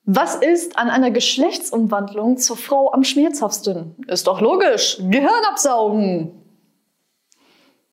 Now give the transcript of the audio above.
Was ist an einer Geschlechtsumwandlung zur Frau am schmerzhaftesten? Ist doch logisch. Gehirn absaugen.